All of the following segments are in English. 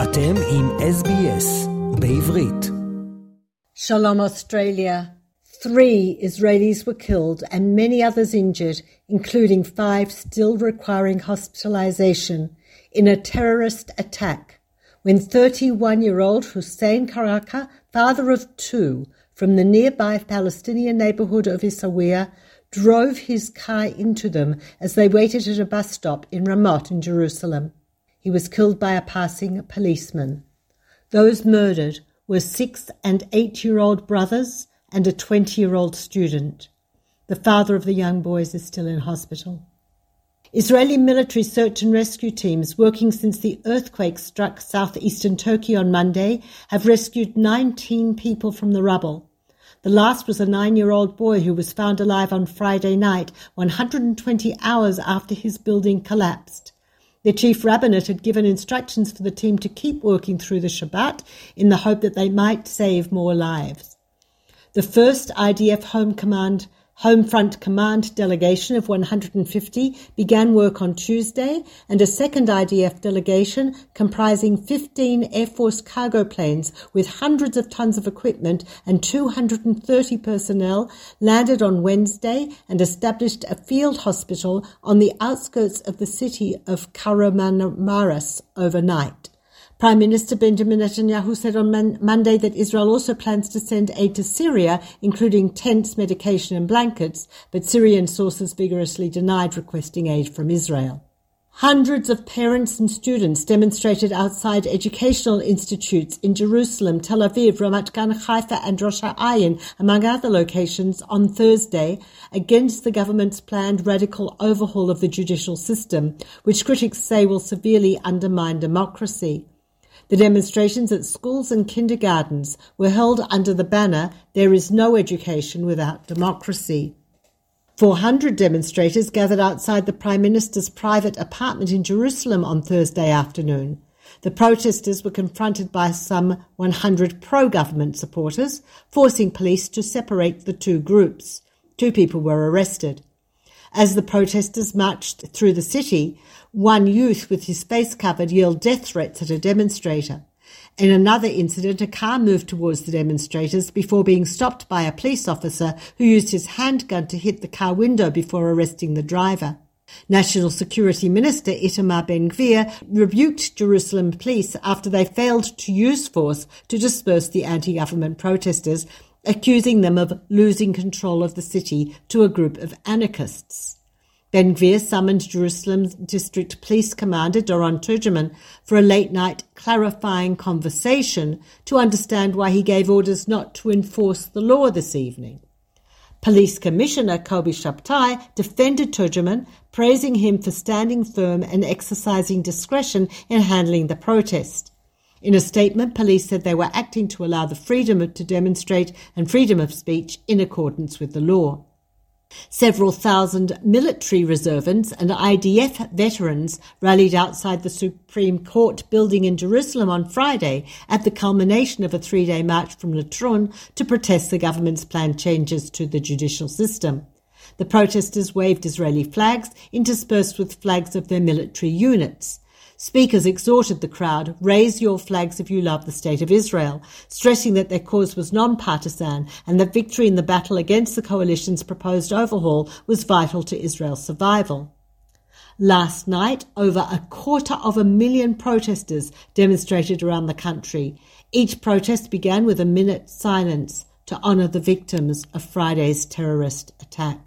אתם עם SBS בעברית. Shalom Australia. 3 Israelis were killed and many others injured, including 5 still requiring hospitalization, in a terrorist attack when 31-year-old Hussein Karaka, father of 2, from the nearby Palestinian neighborhood of Essaouira, drove his car into them as they waited at a bus stop in Ramot in Jerusalem. He was killed by a passing policeman. Those murdered were 6 and 8-year-old brothers and a 20-year-old student. The father of the young boys is still in hospital. Israeli military search and rescue teams working since the earthquake struck southeastern Turkey on Monday have rescued 19 people from the rubble. The last was a 9-year-old boy who was found alive on Friday night, 120 hours after his building collapsed. The chief rabbinate had given instructions for the team to keep working through the Shabbat in the hope that they might save more lives. The first IDF Home Front Command delegation of 150 began work on Tuesday, and a second IDF delegation comprising 15 Air Force cargo planes with hundreds of tons of equipment and 230 personnel landed on Wednesday and established a field hospital on the outskirts of the city of Kahramanmaras overnight. Prime Minister Benjamin Netanyahu said on Monday that Israel also plans to send aid to Syria, including tents, medication and blankets, but Syrian sources vigorously denied requesting aid from Israel. Hundreds of parents and students demonstrated outside educational institutes in Jerusalem, Tel Aviv, Ramat Gan, Haifa and Rosh Ha'ayin, among other locations, on Thursday against the government's planned radical overhaul of the judicial system, which critics say will severely undermine democracy. The demonstrations at schools and kindergartens were held under the banner, "There is no education without democracy." 400 demonstrators gathered outside the Prime Minister's private apartment in Jerusalem on Thursday afternoon. The protesters were confronted by some 100 pro-government supporters, forcing police to separate the two groups. 2 people were arrested. As the protesters marched through the city, one youth with his face covered yelled death threats at a demonstrator. In another incident, a car moved towards the demonstrators before being stopped by a police officer who used his handgun to hit the car window before arresting the driver. National Security Minister Itamar Ben-Gvir rebuked Jerusalem police after they failed to use force to disperse the anti-government protesters, accusing them of losing control of the city to a group of anarchists. Ben-Gvir summoned Jerusalem District Police Commander Doron Turgeman for a late-night clarifying conversation to understand why he gave orders not to enforce the law this evening. Police Commissioner Kobi Shabtai defended Turgeman, praising him for standing firm and exercising discretion in handling the protest. In a statement, police said they were acting to allow the freedom to demonstrate and freedom of speech in accordance with the law. Several thousand military reservists and IDF veterans rallied outside the Supreme Court building in Jerusalem on Friday at the culmination of a 3-day march from Latrun to protest the government's planned changes to the judicial system. The protesters waved Israeli flags interspersed with flags of their military units. Speakers exhorted the crowd, "Raise your flags if you love the State of Israel," stressing that their cause was non-partisan and that victory in the battle against the coalition's proposed overhaul was vital to Israel's survival. Last night, over 250,000 protesters demonstrated around the country. Each protest began with a minute's silence to honour the victims of Friday's terrorist attack.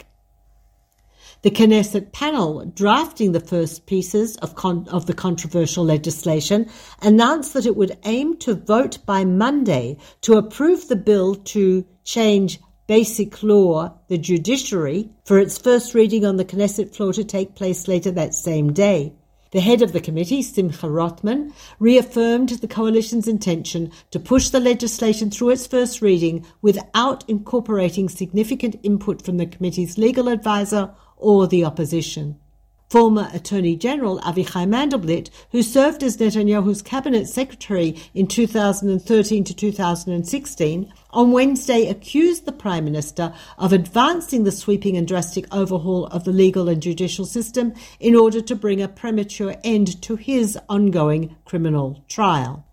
The Knesset panel drafting the first pieces of the controversial legislation announced that it would aim to vote by Monday to approve the bill to change Basic Law, the judiciary, for its first reading on the Knesset floor to take place later that same day. The head of the committee, Simcha Rothman, reaffirmed the coalition's intention to push the legislation through its first reading without incorporating significant input from the committee's legal advisor or the opposition. Former Attorney General Avichai Mandelblit, who served as Netanyahu's cabinet secretary in 2013 to 2016, on Wednesday accused the Prime Minister of advancing the sweeping and drastic overhaul of the legal and judicial system in order to bring a premature end to his ongoing criminal trial.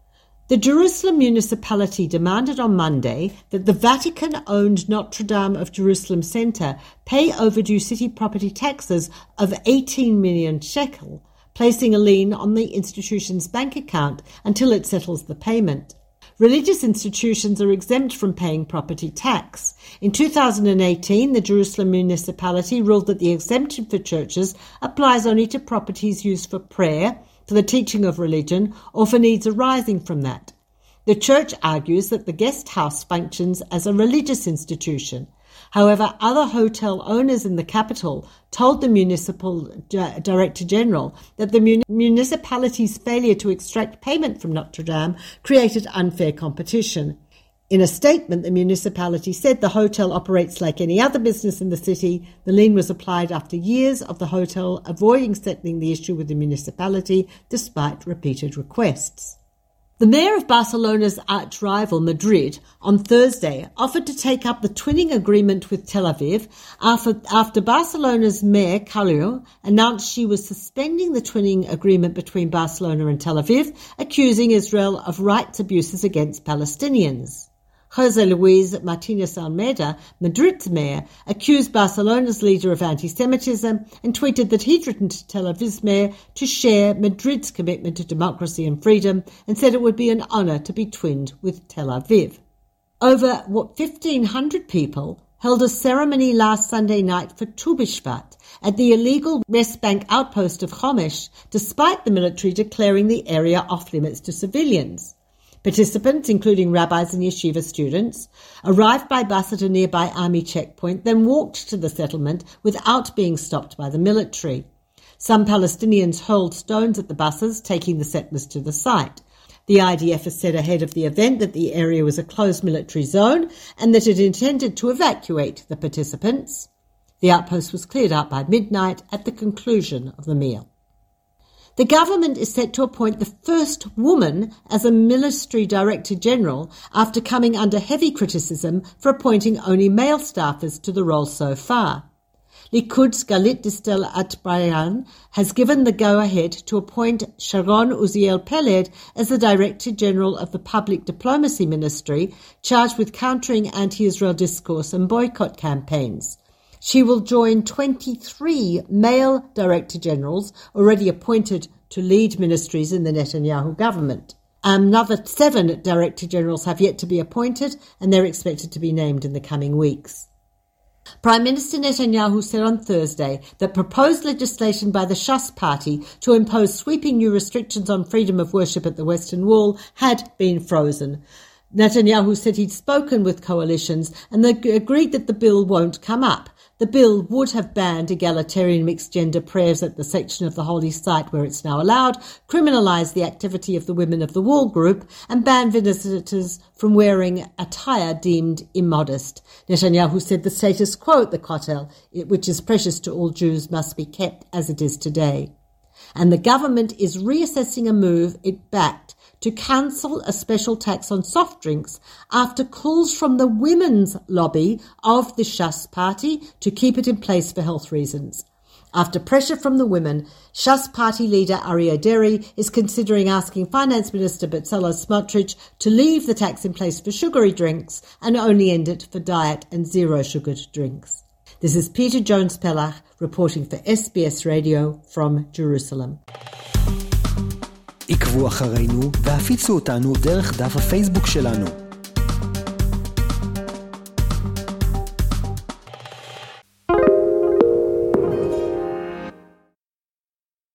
The Jerusalem municipality demanded on Monday that the Vatican-owned Notre Dame of Jerusalem Center pay overdue city property taxes of 18 million shekel, placing a lien on the institution's bank account until it settles the payment. Religious institutions are exempt from paying property tax. In 2018, the Jerusalem municipality ruled that the exemption for churches applies only to properties used for prayer, for the teaching of religion, or for needs arising from that. The church argues that the guest house functions as a religious institution. However, other hotel owners in the capital told the municipal director general that the municipality's failure to extract payment from Notre Dame created unfair competition. In a statement, the municipality said the hotel operates like any other business in the city. The lien was applied after years of the hotel avoiding settling the issue with the municipality despite repeated requests. The mayor of Barcelona's arch-rival, Madrid, on Thursday offered to take up the twinning agreement with Tel Aviv after Barcelona's mayor, Callejo, announced she was suspending the twinning agreement between Barcelona and Tel Aviv, accusing Israel of rights abuses against Palestinians. José Luis Martínez Almeida, Madrid's mayor, accused Barcelona's leader of anti-Semitism and tweeted that he'd written to Tel Aviv's mayor to share Madrid's commitment to democracy and freedom and said it would be an honour to be twinned with Tel Aviv. Over 1,500 people held a ceremony last Sunday night for Tu B'Shvat at the illegal West Bank outpost of Homesh, despite the military declaring the area off-limits to civilians. Participants, including rabbis and yeshiva students, arrived by bus at a nearby army checkpoint, then walked to the settlement without being stopped by the military. Some Palestinians hurled stones at the buses, taking the settlers to the site. The IDF has said ahead of the event that the area was a closed military zone and that it intended to evacuate the participants. The outpost was cleared out by midnight at the conclusion of the meal. The government is set to appoint the first woman as a military director general after coming under heavy criticism for appointing only male staffers to the role so far. Likud's Galit Distel Atbarayan has given the go-ahead to appoint Sharon Uziel Peled as the Director General of the Public Diplomacy Ministry, charged with countering anti-Israel discourse and boycott campaigns. She will join 23 male Director Generals already appointed to lead ministries in the Netanyahu government. Another 7 Director Generals have yet to be appointed, and they're expected to be named in the coming weeks. Prime Minister Netanyahu said on Thursday that proposed legislation by the Shas party to impose sweeping new restrictions on freedom of worship at the Western Wall had been frozen. Netanyahu said he'd spoken with coalitions and they agreed that the bill won't come up. The bill would have banned egalitarian mixed-gender prayers at the section of the holy site where it's now allowed, criminalised the activity of the Women of the Wall group, and banned visitors from wearing attire deemed immodest. Netanyahu said the status quo at the Kotel, which is precious to all Jews, must be kept as it is today. And the government is reassessing a move it backed to cancel a special tax on soft drinks after calls from the women's lobby of the Shas party to keep it in place for health reasons. After pressure from the women, Shas party leader Aryeh Deri is considering asking Finance Minister Bezalel Smotrich to leave the tax in place for sugary drinks and only end it for diet and zero-sugared drinks. This is Peter Jones-Pellach reporting for SBS Radio from Jerusalem. עקבו אחרינו והפיצו אותנו דרך דף הפייסבוק שלנו.